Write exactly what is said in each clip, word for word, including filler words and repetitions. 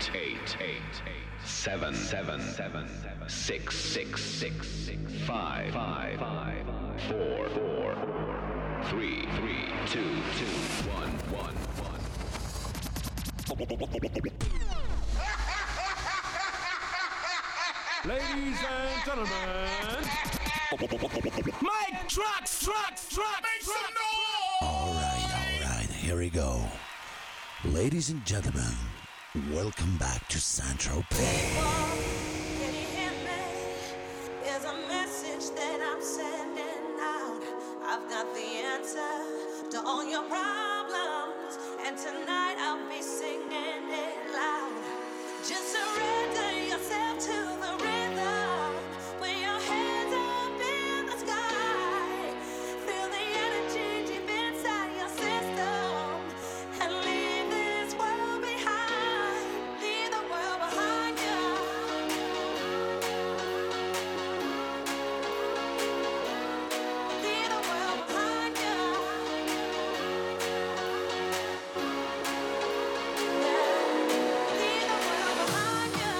eight, eight, eight, seven, seven, seven, six, six, six, five, five, five, four, four, three, three, two, two, one, one, one. Ladies and gentlemen, Mike trucks, trucks, trucks, make some noise! All right, all right, here we go. Ladies and gentlemen, welcome back to Saint-Tropez. Can you hear me? There's a message that I'm sending out. I've got the answer to all your problems, and tonight I'll be singing it loud. Just surrender yourself to the rhythm. Put your hands up in the sky. Feel the energy deep inside your system, and leave this world behind. Leave the world behind you. Leave the world behind you. Leave the world behind you.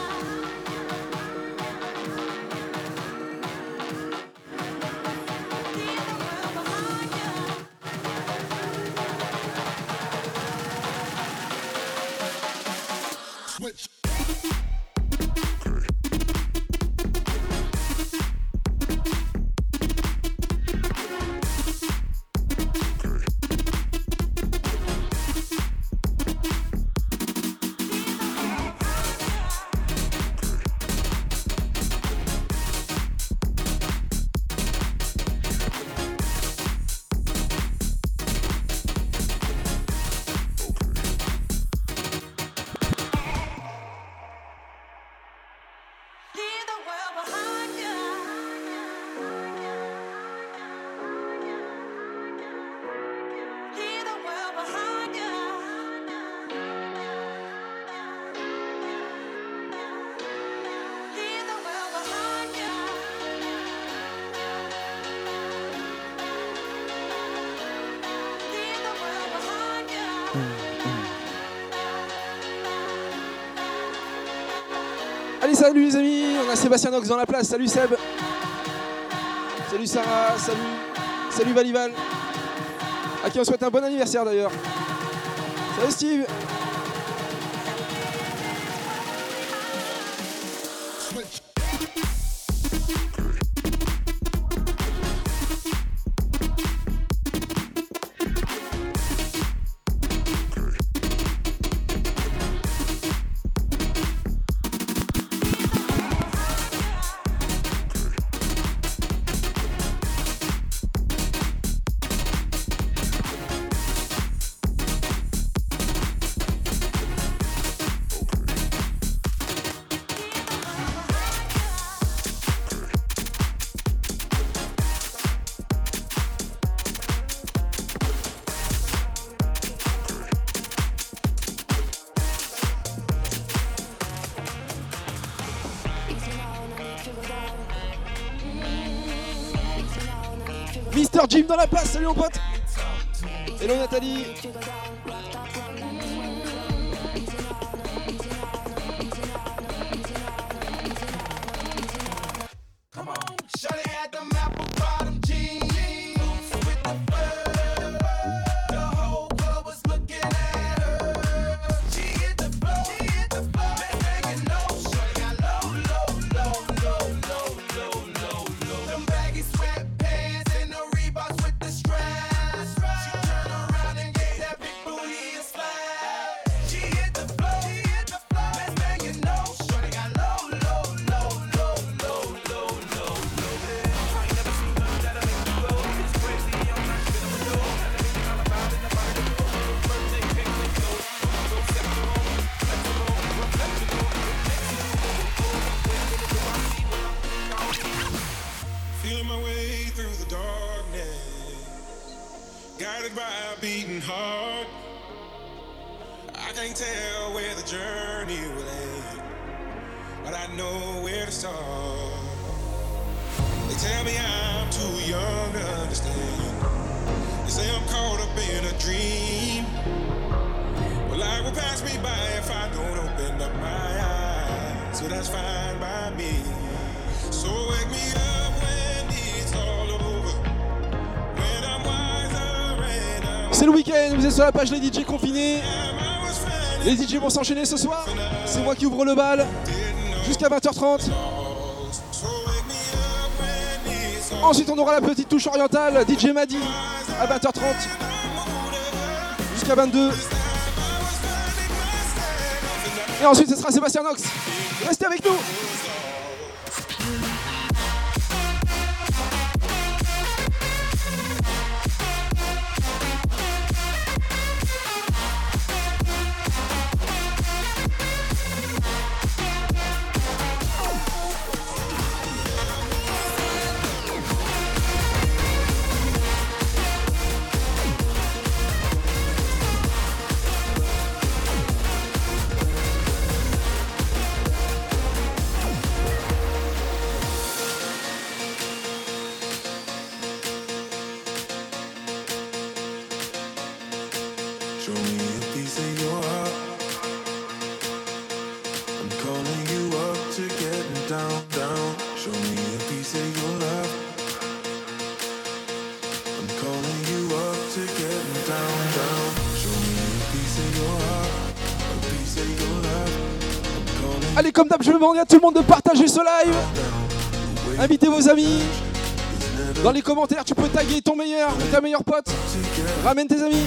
Leave the world behind you. Switch. Leave the world behind you. Leave the world behind you. Leave the world behind you. Leave the world behind you. Allez, salut les amis, on a Sébastien Nox dans la place. Salut Seb. Salut Sarah, salut. Salut Valival. À qui on souhaite un bon anniversaire d'ailleurs. Salut Steve. Mister Jim dans la place, salut mon pote. Hello Nathalie. Feeling my way through the darkness, guided by a beating heart. I can't tell where the journey will end, but I know where to start. They tell me I'm too young to understand. They say I'm caught up in a dream. Well, life will pass me by if I don't open up my that's fine by me. So wake me up when it's all over. When I'm wiser and I'm C'est le week-end, vous êtes sur la page Les D J confinés. Les D J vont s'enchaîner ce soir. C'est moi qui ouvre le bal jusqu'à vingt heures trente. Ensuite, on aura la petite touche orientale, D J Madi à vingt heures trente jusqu'à vingt-deux. Et ensuite, ce sera Sébastien Nox. Restez avec nous. show me a piece of your heart. I'm calling you up to getting down, down. Show me a piece of your love. I'm calling you up to getting down, down. Show me a piece of your heart, a piece of your love. I'm calling. Allez, comme d'hab, je demande à tout le monde de partager ce live. Invitez vos amis. Dans les commentaires, tu peux taguer ton meilleur ou ta meilleure pote. Ramène tes amis.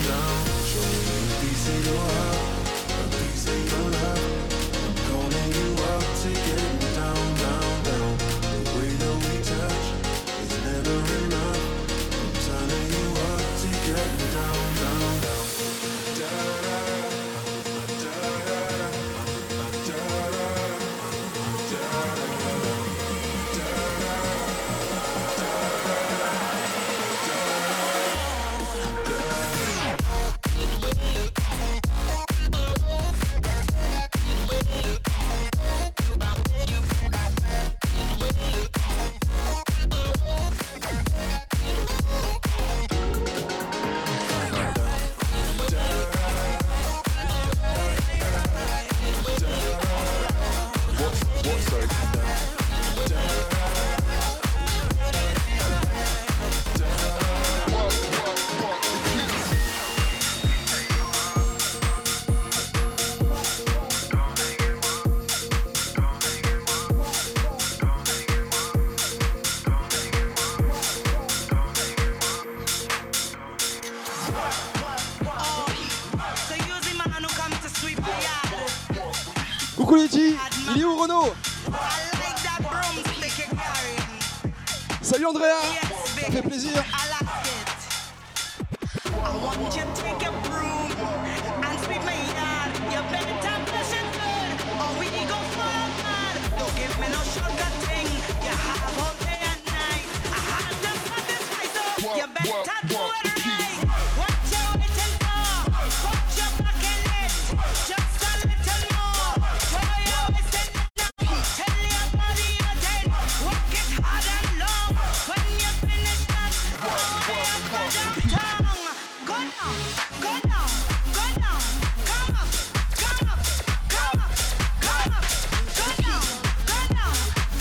Coucou les G, il est où Renaud? Salut Andrea, ça fait plaisir.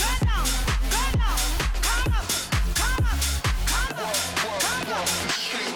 Straight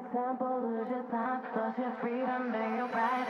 example, lose your time, lost your freedom and your pride.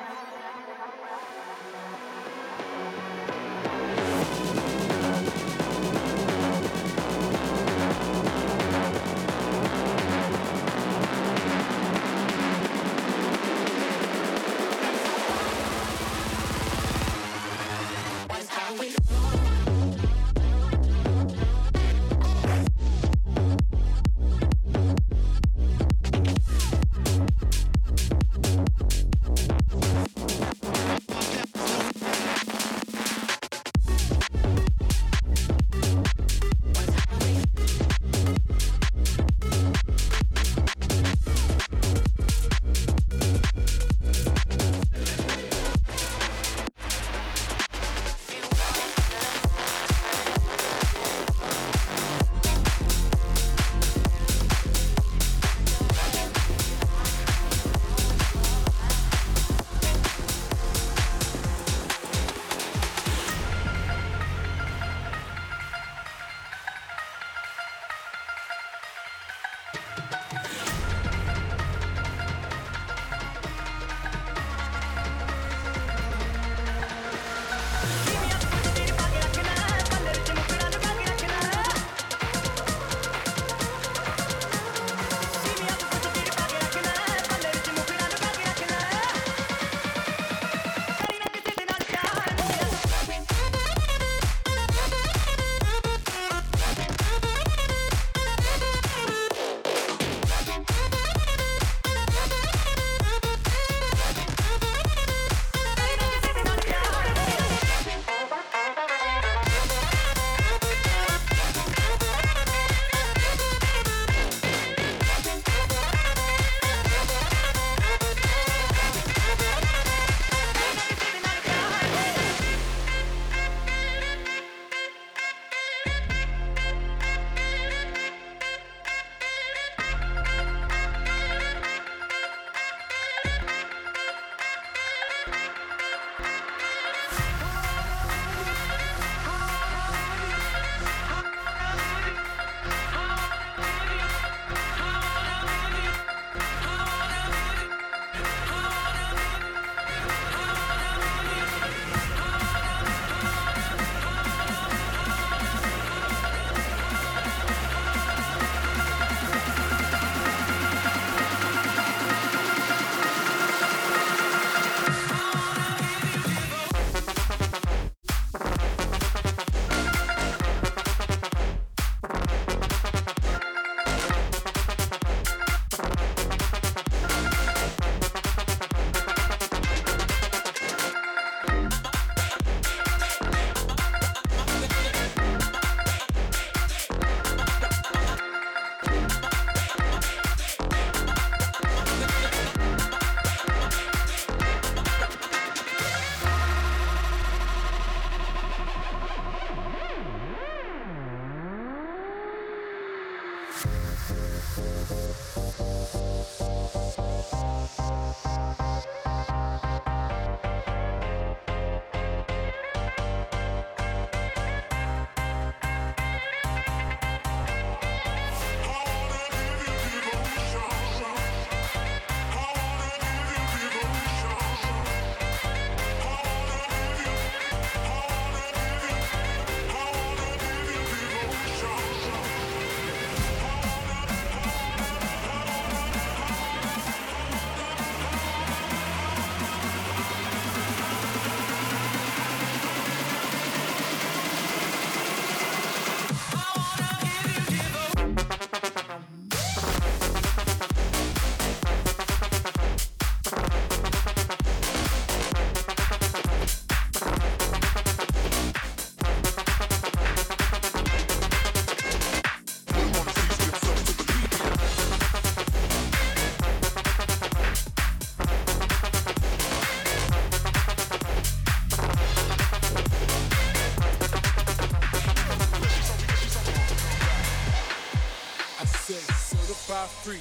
Free,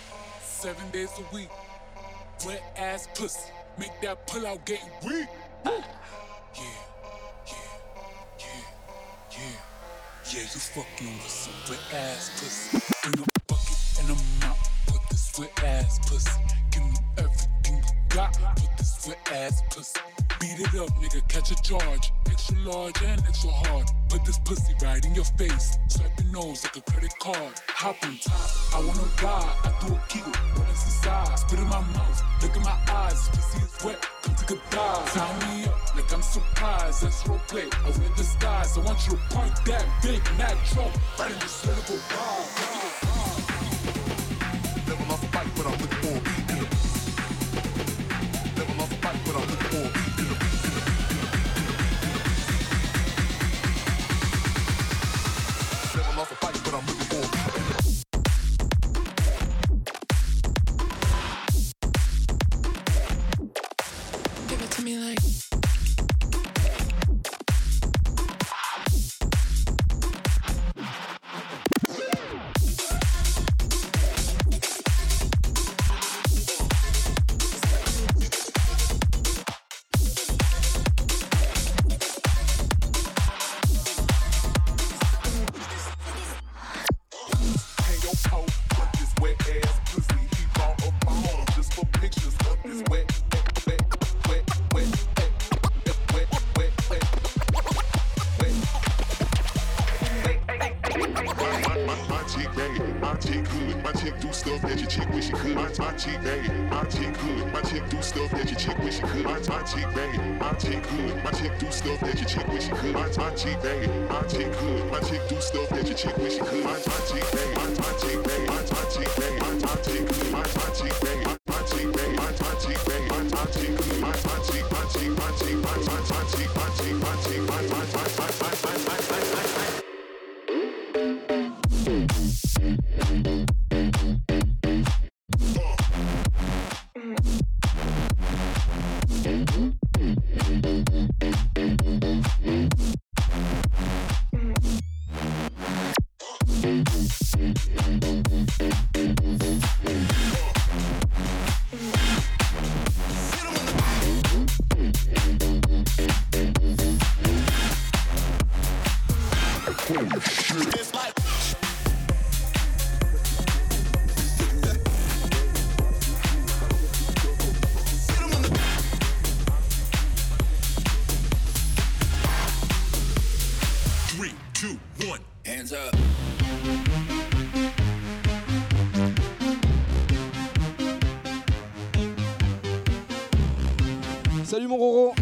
seven days a week. Wet ass pussy, make that pull out getting weak. Yeah, yeah, yeah, yeah, yeah. You fucking with some wet ass pussy. Bring a bucket and a mop, put this this wet ass pussy. Give me everything you got with this wet ass pussy. Beat it up, nigga, catch a charge. Extra large and extra hard. Put this pussy right in your face. Swipe your nose like a credit card. Hop on top, I wanna ride. I do a kegel, what is inside? Spit in my mouth, look in my eyes. This pussy is wet, come take a dive. Tie me up like I'm surprised. That's role play, I wear disguise. I want you to point that big Mac truck right in the cynical bar. Never lost a fight, but I'm looking for a beat in the beat. Never lost a fight, but I'm looking for a beat in the beat. Never lost a fight, but I'm looking for a beat in the beat. Give it to me like. Salut mon Roro.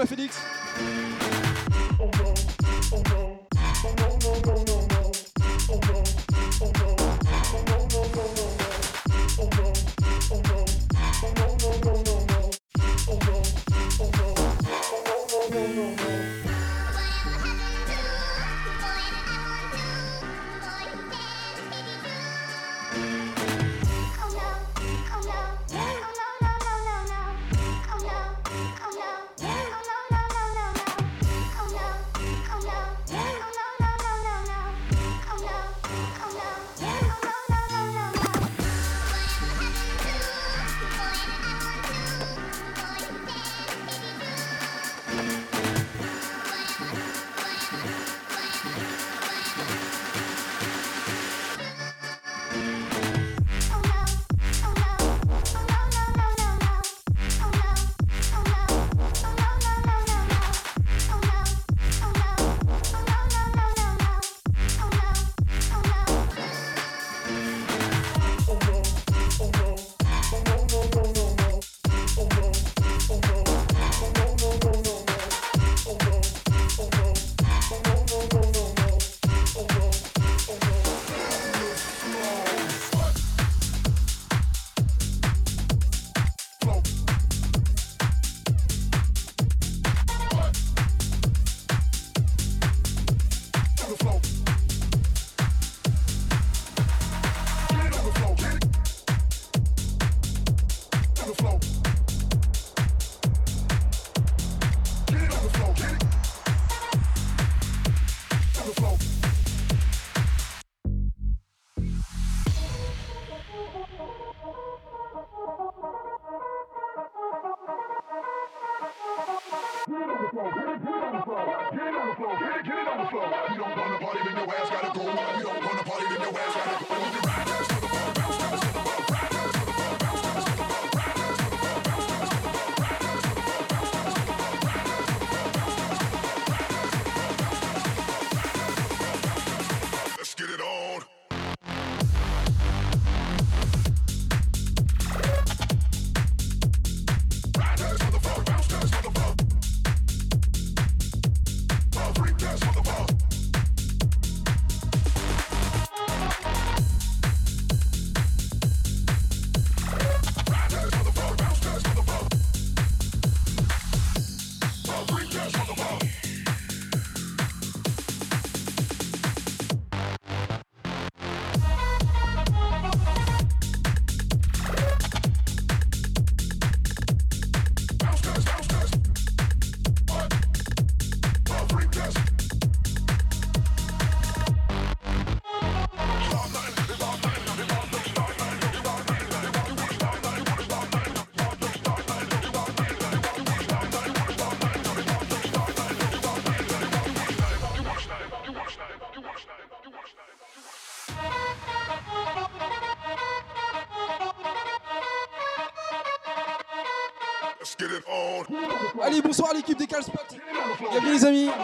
à Félix. Allez, bonsoir à l'équipe des Calspot. Bienvenue les amis.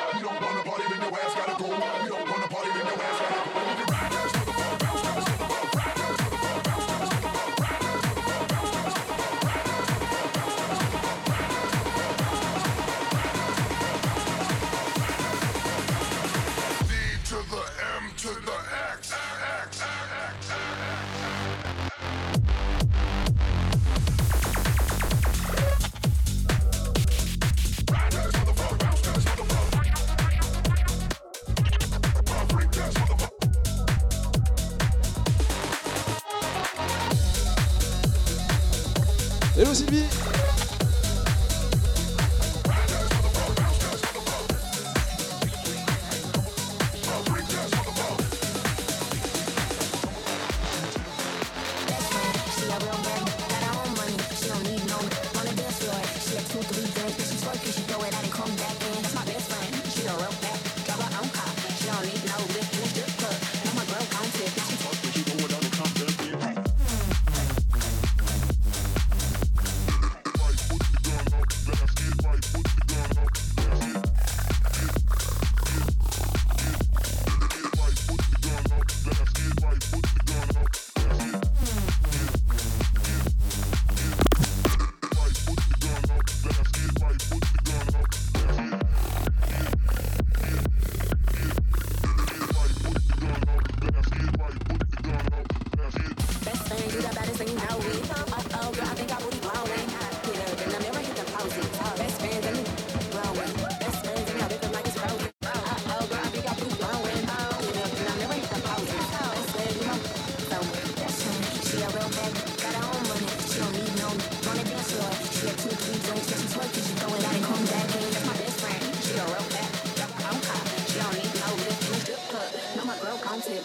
Hello Sylvie.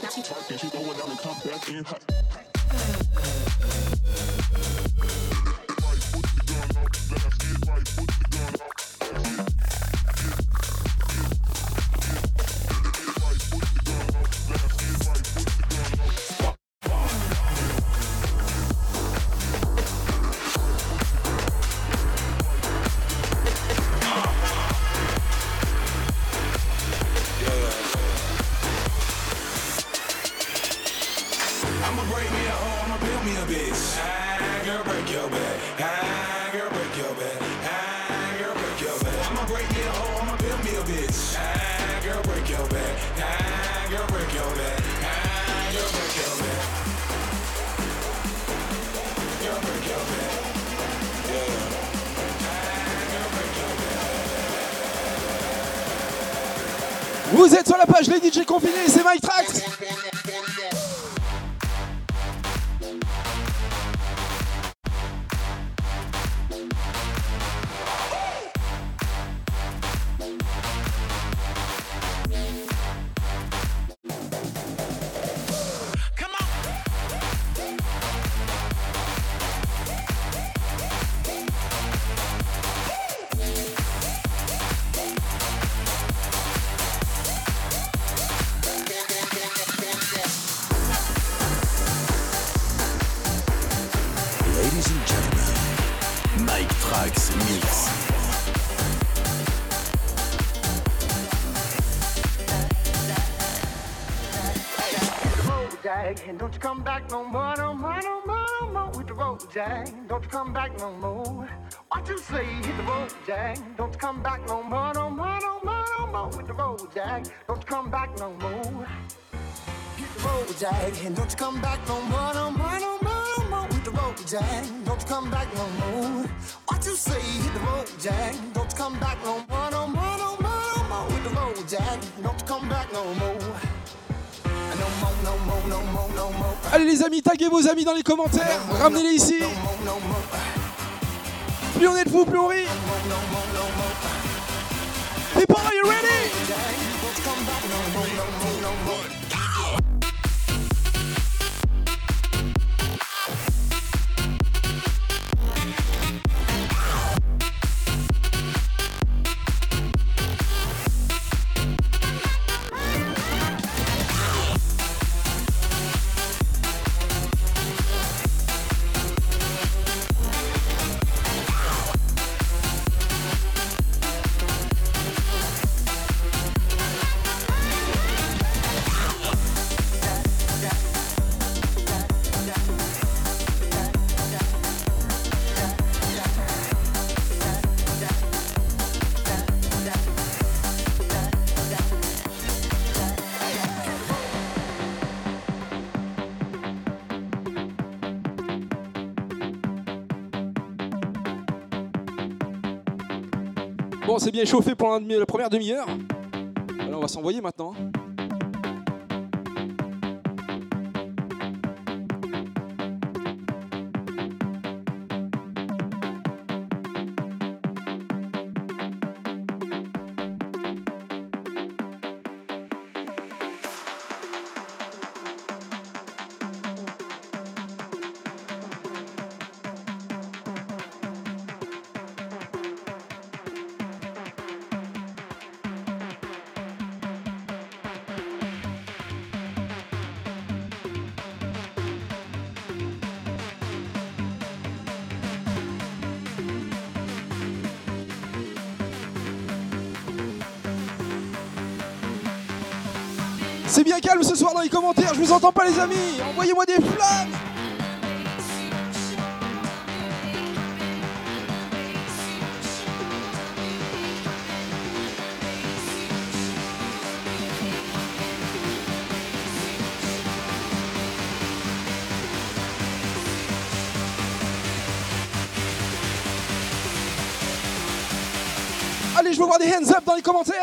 she talking, she going down and come back in hot. Vous êtes sur la page Les D J Confinés, c'est Mike Trax. And don't you come back no more, no more, no more, no more with the road, Jack. Don't you come back no more. What you say, hit the road, Jack. Don't you come back no more, no more, no more, no more with the road, Jack. Don't you come back no more. Hit the road, Jack. And don't you come back no more, no more, no more, no more with the road, Jack. Don't you come back no more. What you say, hit the road, Jack. Don't you come back no more, no more, no more, no more with the road, Jack. Don't you come back no more. Allez les amis, taguez vos amis dans les commentaires, ramenez-les ici. Plus on est de fous, plus on rit. People, are you ready? Bon, c'est bien chauffé pour la, la première demi-heure. Alors on va s'envoyer maintenant. C'est bien calme ce soir dans les commentaires, je vous entends pas les amis, envoyez-moi des flammes. Allez, je veux voir des hands up dans les commentaires.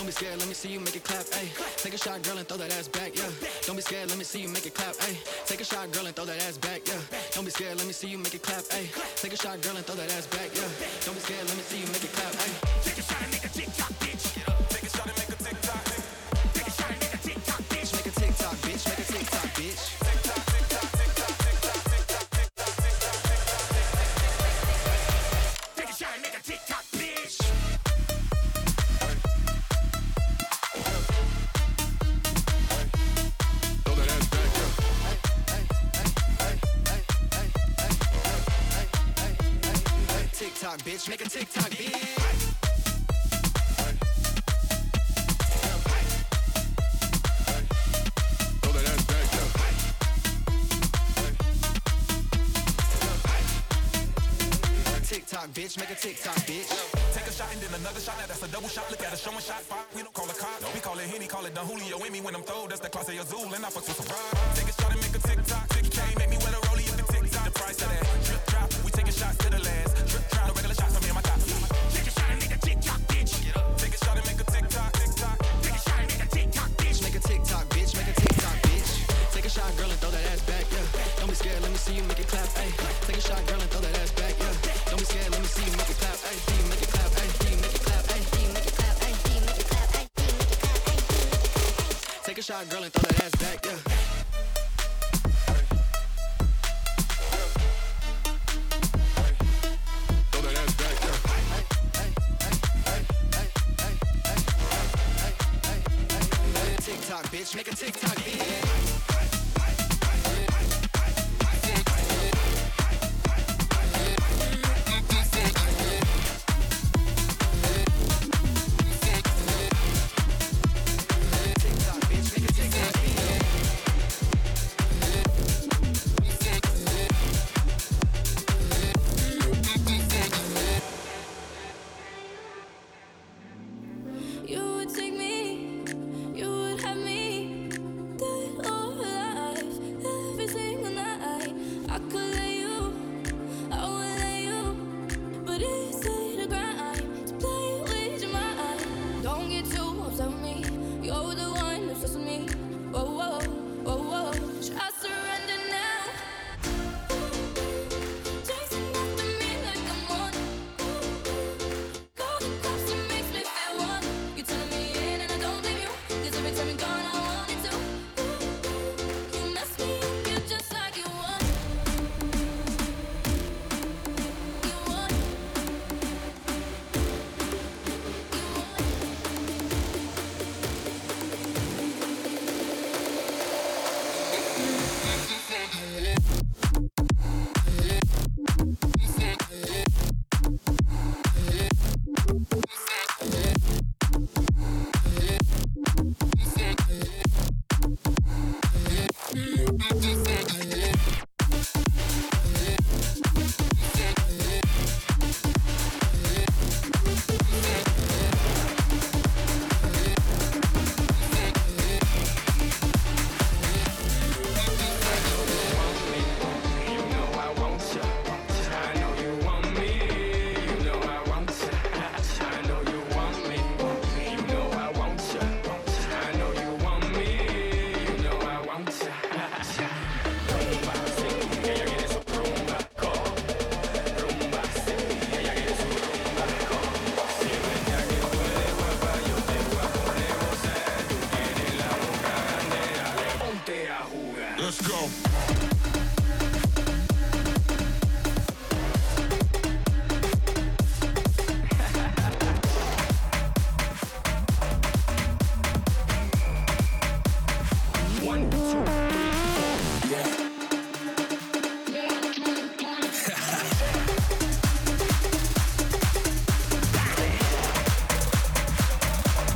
Don't be scared, let me see you make it clap, ayy. Take a shot, girl, and throw that ass back, yeah. Don't be scared, let me see you make it clap, ayy. Take a shot, girl, and throw that ass back, yeah. Don't be scared, let me see you make it clap, ayy. Take a shot, girl, and throw that ass back, yeah. Don't be scared, let me see you make it clap, ayy. Take a shot and make a tick-tock, bitch. Get up. Take a shot and make a tick-tock, bitch. Take a shot and make a tick-tock, bitch. Make a tick-tock, bitch. Make a tick-tock, bitch. Tick-tock, tick-tock, tick-tock, tick-tock, tick-tock, tick-tock, tick-tock. Take a shot and make a tick-tock, bitch. TikTok, bitch, make a TikTok, bitch. Throw that ass back, yo. TikTok, bitch, make a TikTok, bitch. Take a shot and then another shot, now that's a double shot. Look at us showing shot five. We don't call it cop, we call it Henny, call it Don Julio. In me when I'm throw, that's the class of Azul, and I fuck with some ride. Take a shot and make a TikTok. six K, make me wear a rollie if the TikTok. The price of that drip drop, we taking shots to the last. Drip drop, no regular shots, I'm in my top. Take a shot and make a TikTok, bitch. Get up. Take a shot and make a TikTok, TikTok. Take a shot and make a TikTok, bitch. Make a TikTok, bitch, make a TikTok, bitch. Take a shot, girl, and throw that ass back, yeah. Don't be scared, let me see you make it clap, ayy. Take a shot, girl, and throw that ass back, yeah. Don't be scared, let me see you make it clap, ayy. See you make it clap, ayy. See you make it clap, ayy. See you make it clap, ayy. See you make it clap, ayy. See you make it clap, ayy. Take a shot, girl, and throw that ass back, yeah. Bitch, make a TikTok, bitch.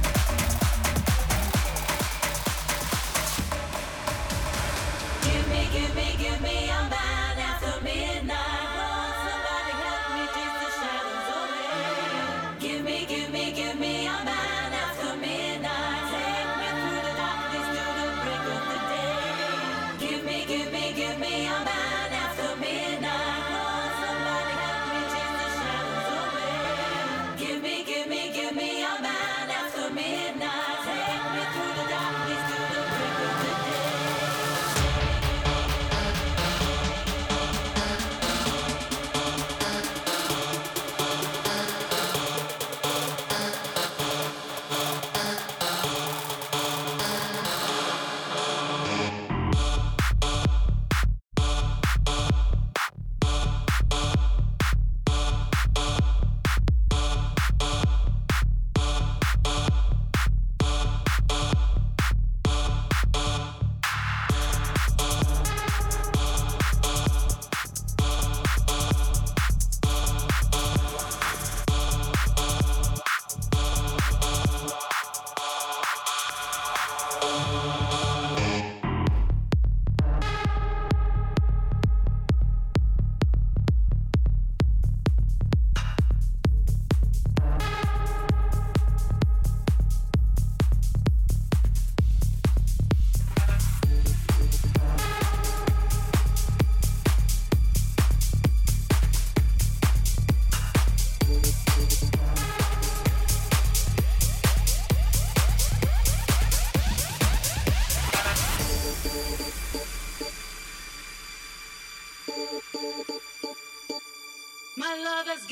Give me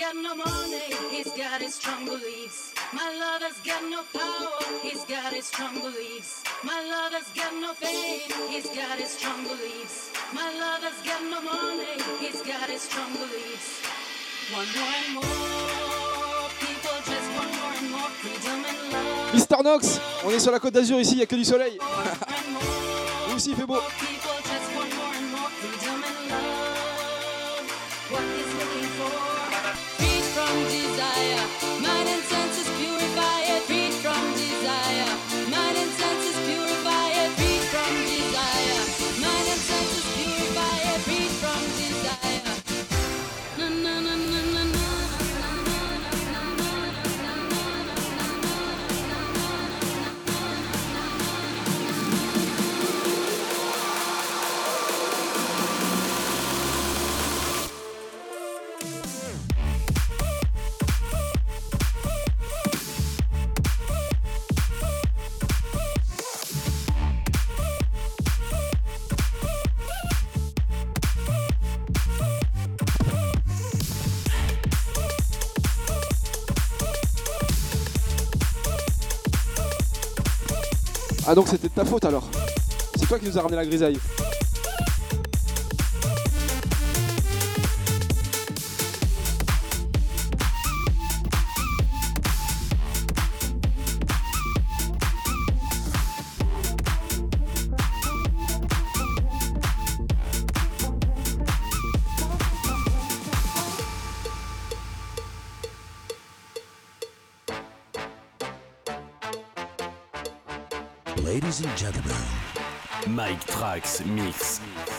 got no money, he's got his strong beliefs. My lover's got no power, he's got his strong beliefs. My lover's got no fame, he's got his strong beliefs. My lover's got no money, he's got his strong beliefs. One more and more, people just want more and more freedom and love. Mister Nox, on est sur la côte d'Azur ici, il n'y a que du soleil. Nous aussi il fait beau. People just want more and more freedom and love. What is looking for? Freed from desire, mind and senses purify it. Freed from desire, mind and senses purify it. Freed from desire, mind and senses purify it. Freed from desire. Na na na na na na. Ah donc c'était de ta faute alors. C'est toi qui nous as ramené la grisaille. Ladies and gentlemen, Mike Trax Mix.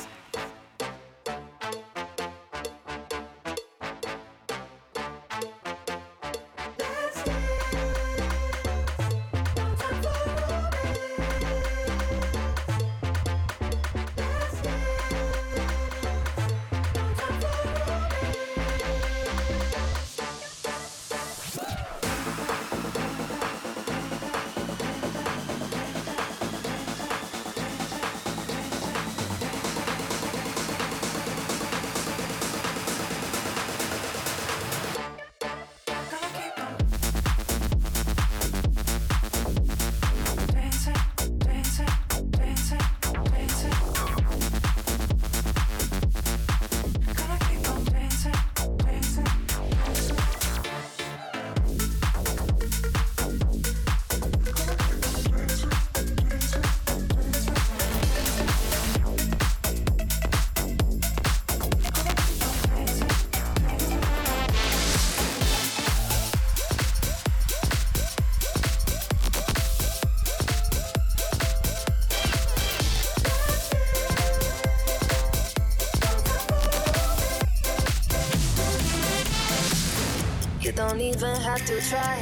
Don't even have to try.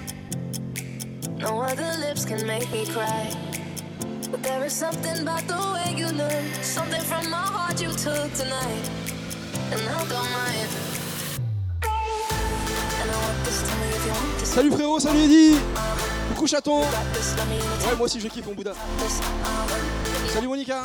No other lips can make me cry. But there is something about the way you look, something from my heart you took tonight, and I don't mind. And I want this to me if you want this. Salut frérot, salut Eddy. Coucou chaton. Ouais, moi aussi je kiffe mon Bouddha. Salut Monica.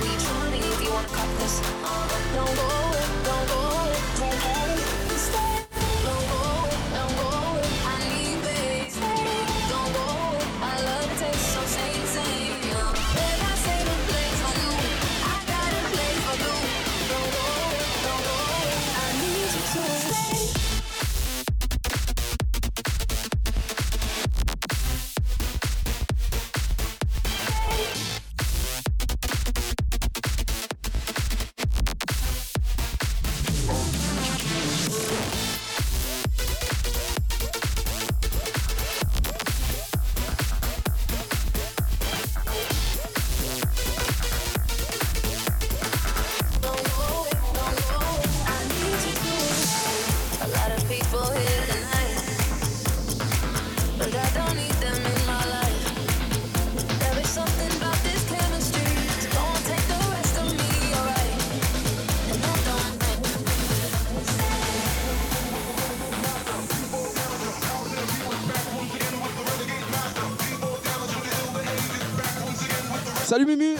Salut Mumu.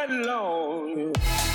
night long.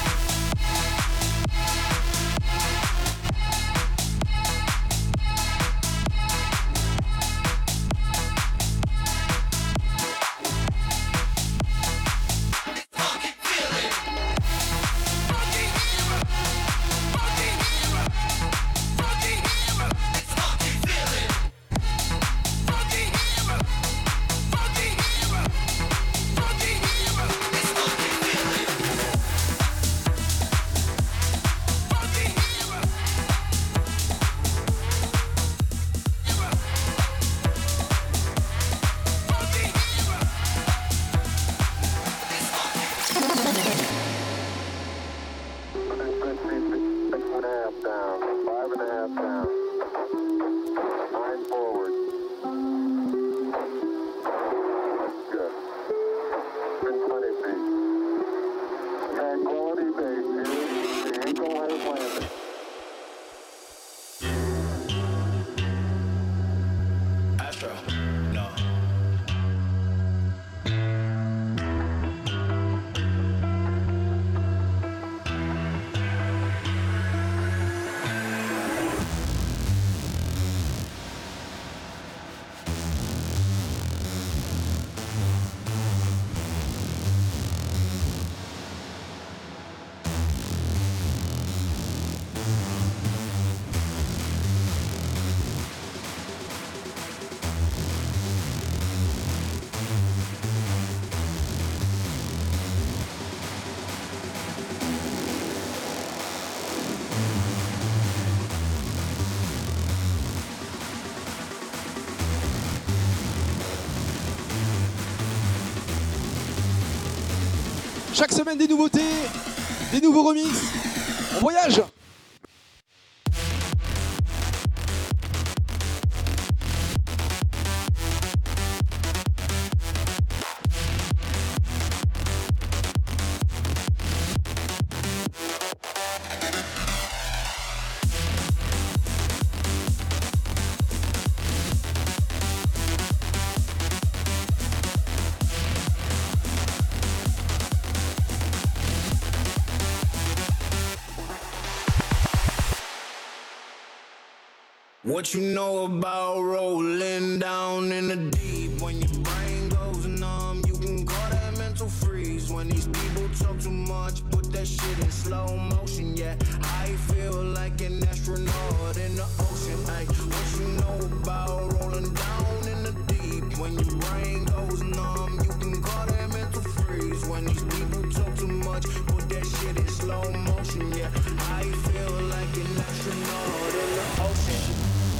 Chaque semaine des nouveautés, des nouveaux remix. On voyage. What you know about rolling down in the deep? When your brain goes numb, you can call that mental freeze. When these people talk too much, put that shit in slow motion. Yeah, I feel like an astronaut in the ocean. Ay, what you know about rolling down in the deep? When your brain goes numb, you can call that mental freeze. When these people talk too much, put that shit in slow motion. Yeah, I feel like an astronaut in the ocean.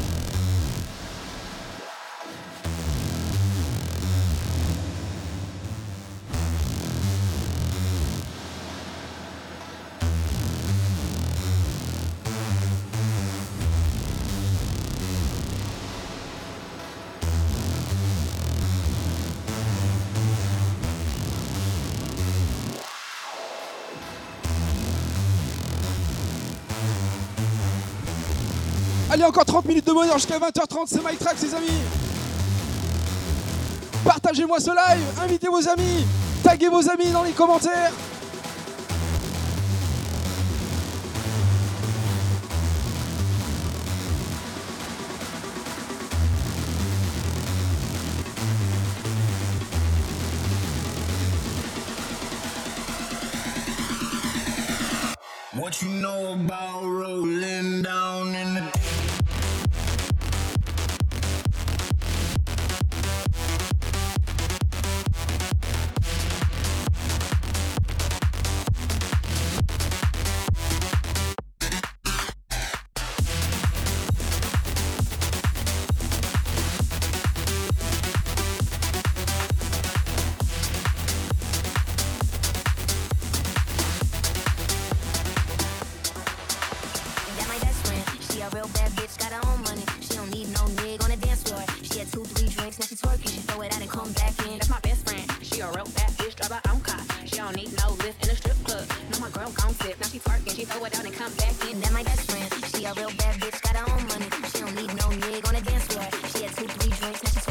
Allez, encore trente minutes de bonheur jusqu'à vingt heures trente, c'est Mike Trax, les amis. Partagez-moi ce live, invitez vos amis, taguez vos amis dans les commentaires. What you know about rolling down in the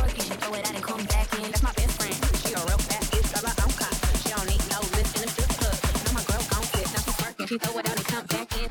She a real bad bitch, drive her own car. She don't need no lift in the strip club. you throw it out and come back in.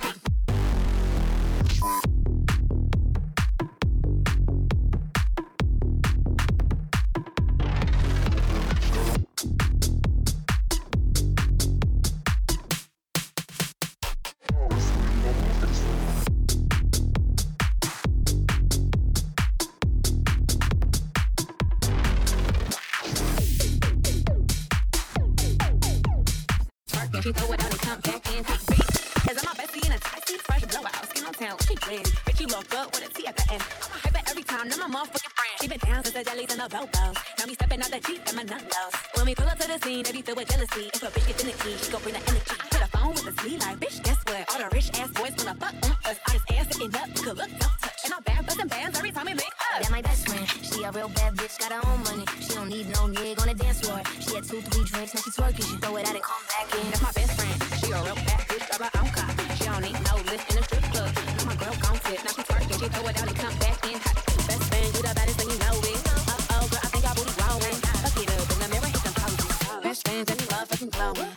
She throw it out and come back in. Cause I'm my bestie in a tight seat, fresh blowout, skin on town, she blends. Bitch, you look good with a T at the end. I'm a hyper every time, now my motherfucking friend. She been down since the jellies and the bobos. Now me stepping out the Jeep and my nut-lows. When we pull up to the scene, they be filled with jealousy. If a bitch gets in the key, she gon' bring the energy. I hit a phone with a sleeve like, bitch, guess what? All the rich ass boys wanna fuck on us. All this ass sitting up, you could look, don't touch. And I'm bad, bustin' bands every time we make up. That my best friend, she a real bad bitch, got her own money. She don't need no nigga on the dance floor. She had two, three drinks, now she twerking. She throw it out and come back in. That's my best friend. She a real bad bitch, drive her own car. She don't need no lift in a strip club. Now my girl gon' flip, now she twerking. She throw it out and come back in. Hot. Best friend, you the baddest and you know it. Uh-oh, girl, I think our booty growing. Fuck it up in the mirror, hit them poses. Best friends and we love fucking glowing.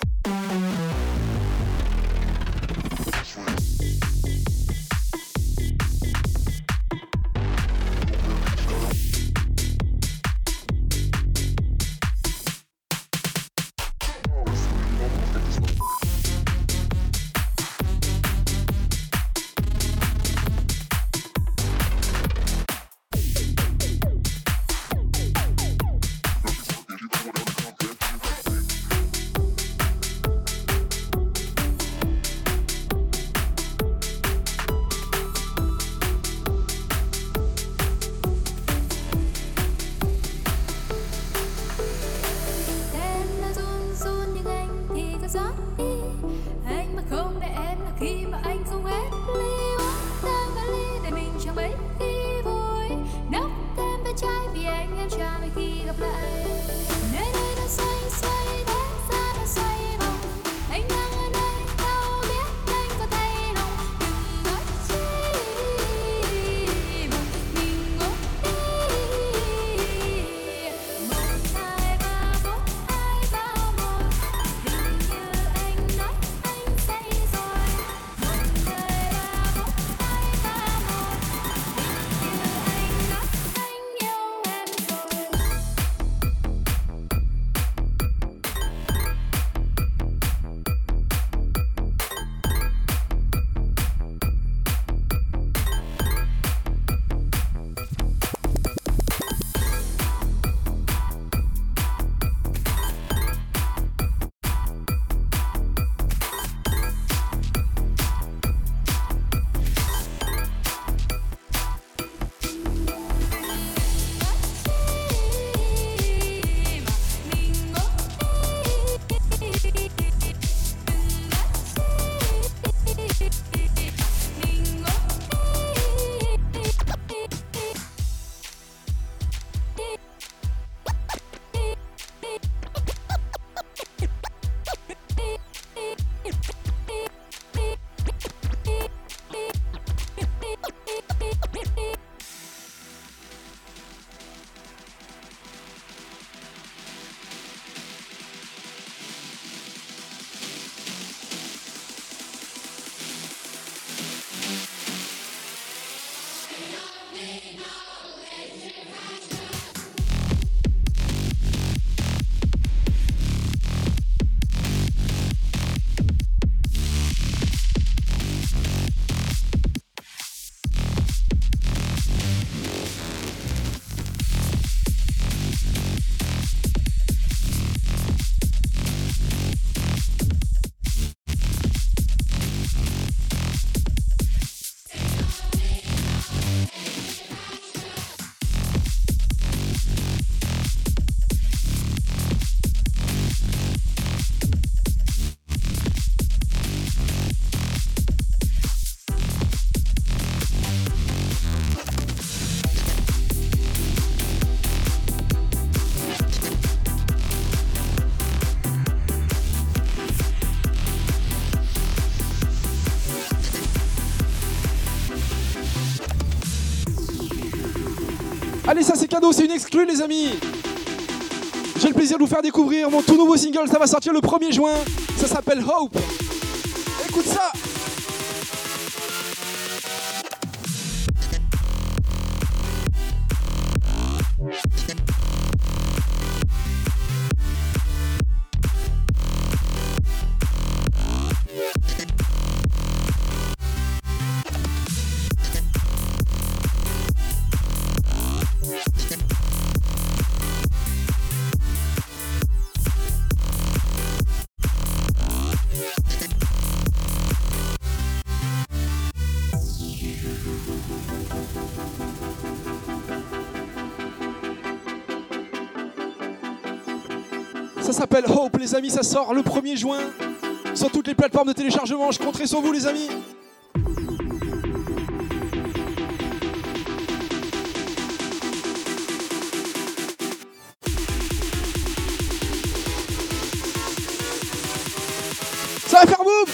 Allez, ça c'est cadeau, c'est une exclue les amis. J'ai le plaisir de vous faire découvrir mon tout nouveau single, ça va sortir le premier juin. Ça s'appelle Hope. Écoute ça. Ça s'appelle Hope, les amis, ça sort le premier juin sur toutes les plateformes de téléchargement. Je compterai sur vous, les amis. Ça va faire boum.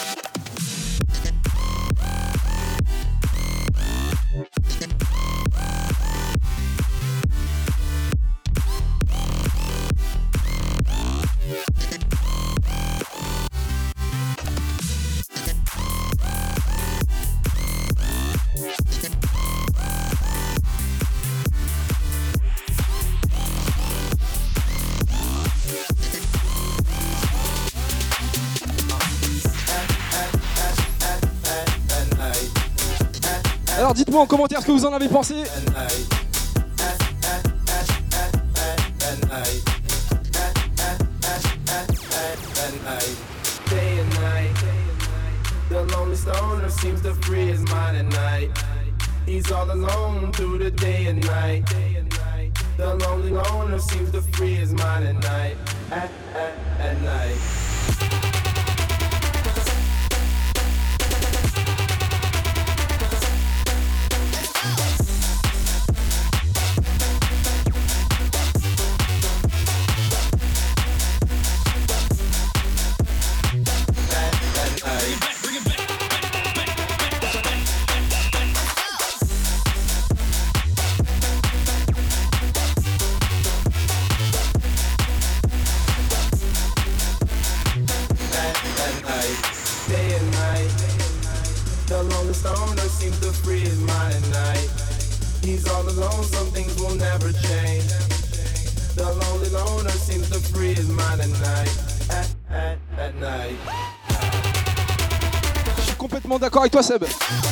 Alors dites-moi en commentaire ce que vous en avez pensé. Day and night, the lonely stoner seems to free his mind at night. He's all alone through the day and night. The lonely loner seems to free his mind at night. At, at, at night. Je suis complètement d'accord avec toi, Seb.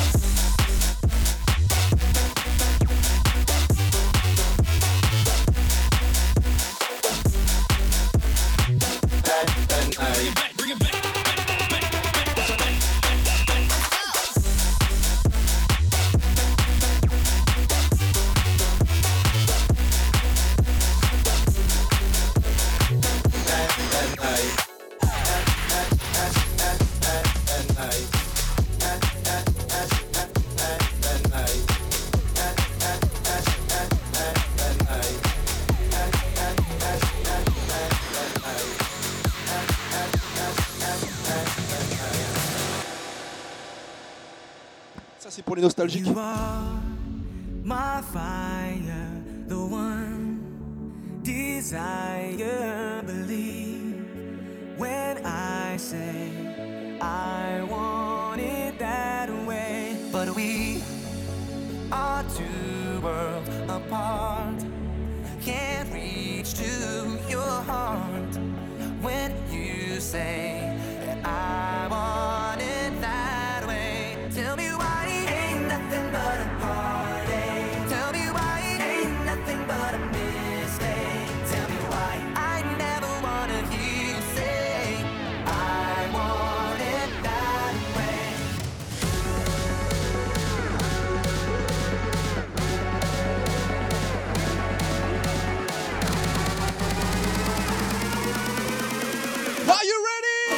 Ça c'est pour les nostalgiques. You are my fire, the one desire, believe when I say I want it that way. But we are two worlds apart, can't reach to your heart when you say that I want it that way. Tell me why. Nothing but a heartache. Tell me why it ain't nothing but a mistake. Tell me why I never wanna hear you say I want it that way. Are you ready?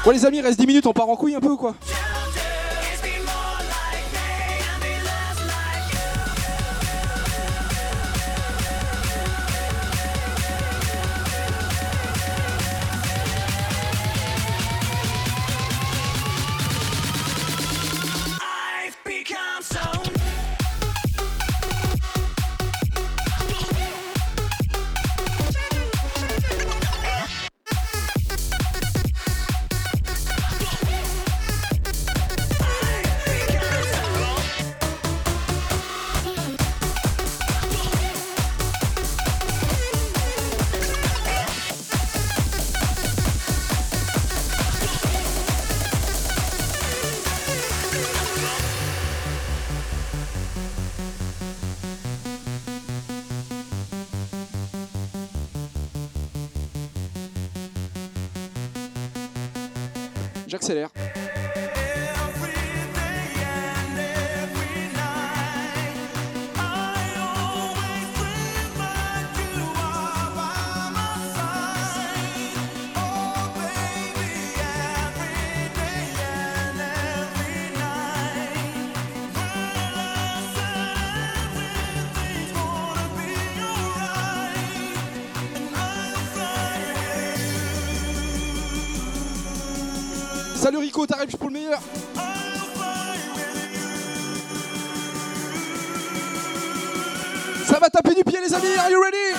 Bon les amis, reste dix minutes, on part en couille un peu ou quoi? J'accélère. Salut Rico, t'arrives pour le meilleur. Ça va taper du pied les amis, are you ready?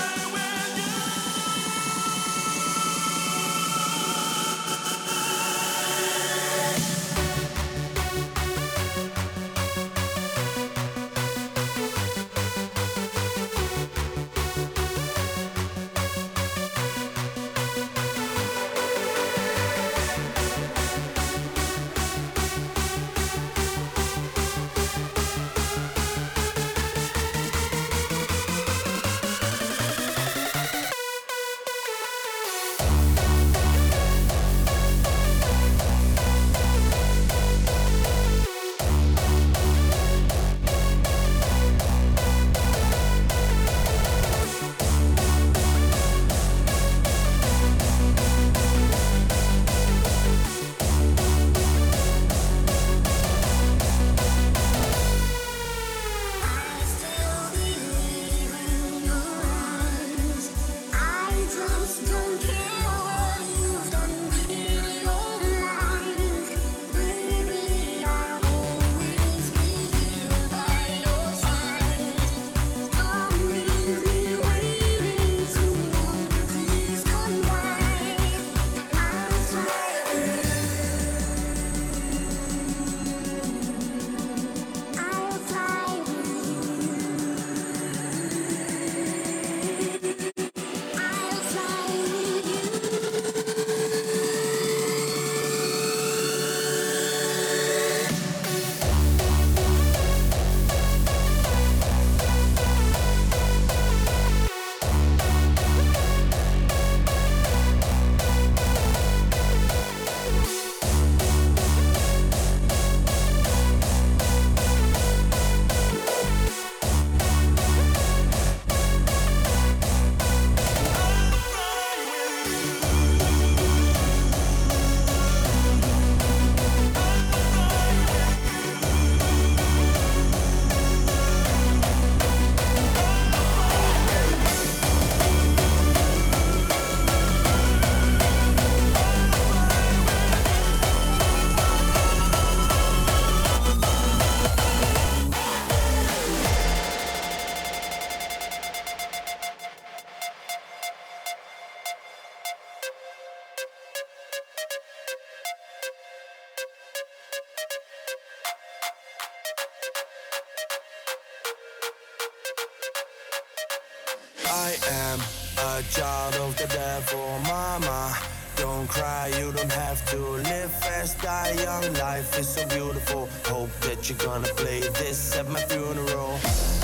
I am a child of the devil, mama. Don't cry, you don't have to live fast, die young. Life is so beautiful. Hope that you're gonna play this at my funeral.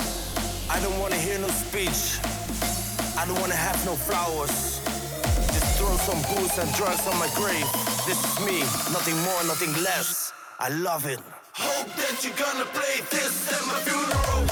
I don't wanna hear no speech. I don't wanna have no flowers. Just throw some booze and drugs on my grave. This is me, nothing more, nothing less. I love it. Hope that you're gonna play this at my funeral.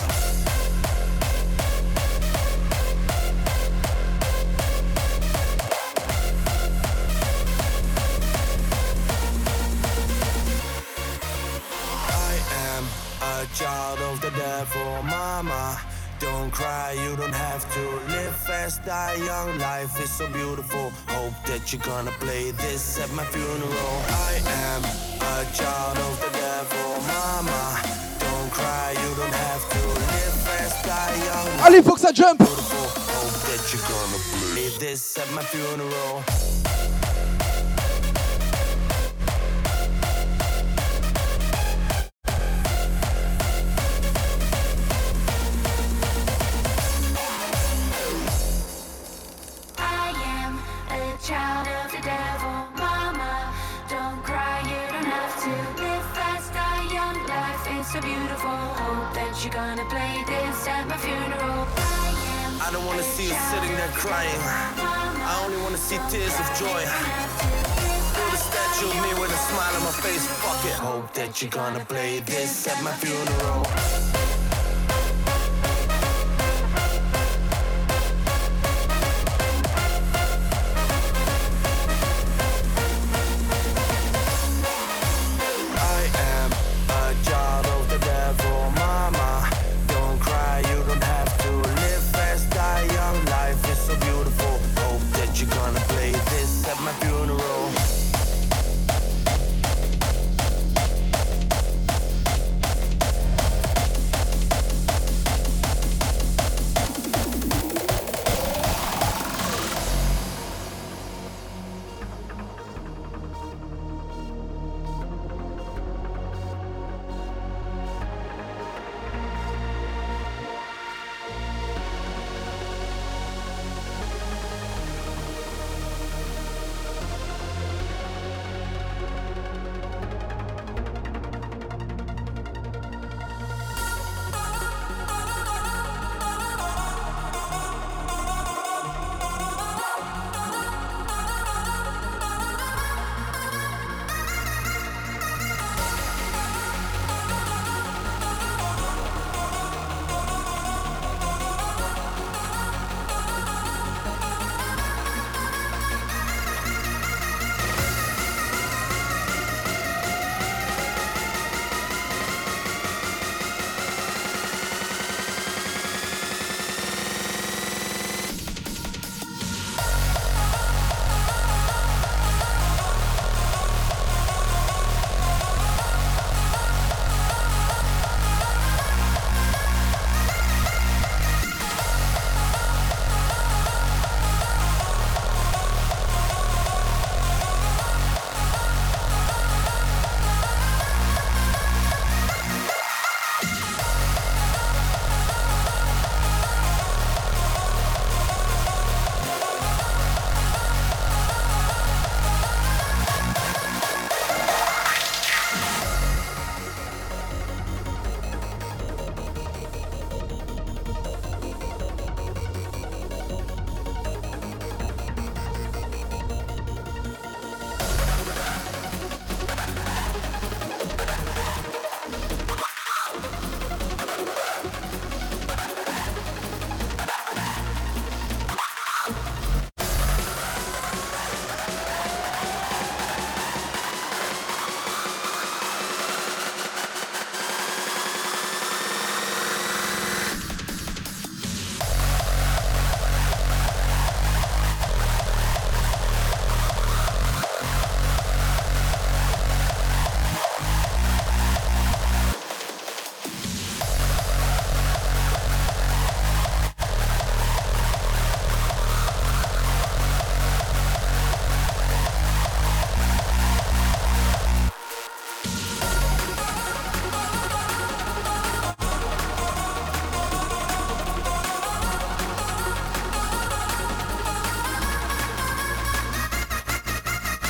a child of the devil, mama. Don't cry, you don't have to. Live fast, die young, life is so beautiful. Hope that you're gonna play this at my funeral. I am a child of the devil, mama. Don't cry, you don't have to. Live fast, die young. Allez, faut que ça jump. Beautiful. Hope that you're gonna play this at my funeral. Child of the devil, mama. Don't cry, you don't have to. Live fast, die young, life is so beautiful. Hope that you're gonna play this at my funeral. I am I don't wanna see you sitting there crying. I only wanna see tears of joy. Build a statue of me with a smile on my face, fuck it. Hope that you're gonna play this at my funeral.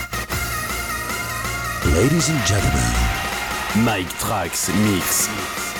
Ladies and gentlemen, Mike Trax Mix.